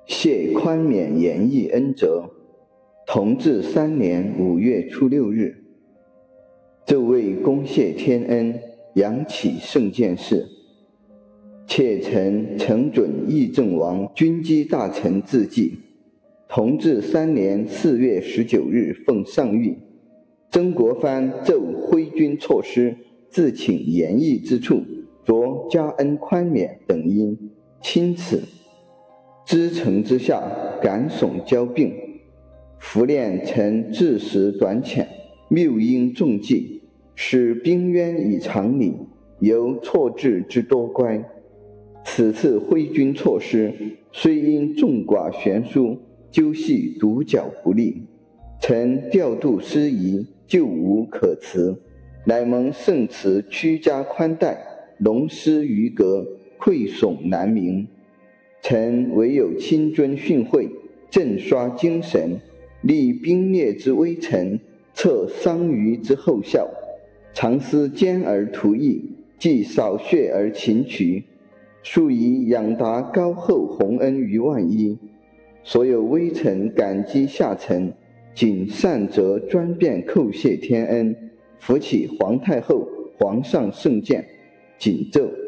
谢宽免延义恩泽，同治3年5月初6日，奏为公谢天恩，扬起圣鉴事。妾臣承准议政王军机大臣自记。同治3年4月19日奉上谕，曾国藩奏挥军措施，自请延义之处，着加恩宽免等因，钦此。知城之下，感悚交并，伏练臣治时短浅，谬因重计，使兵渊以常理，由错置之多乖。此次挥军措施，虽因众寡悬殊，究系独角不利，臣调度失宜，就无可辞，乃蒙圣慈屈加宽待，龙施于革，愧悚难明。臣唯有亲遵训诲，振刷精神，立兵灭之微臣，测桑榆之后效，常思坚而图义，既扫血而勤渠，数以养达高厚洪恩于万一。所有微臣感激下臣，谨善则专便叩谢天恩，扶起皇太后、皇上圣鉴，谨奏。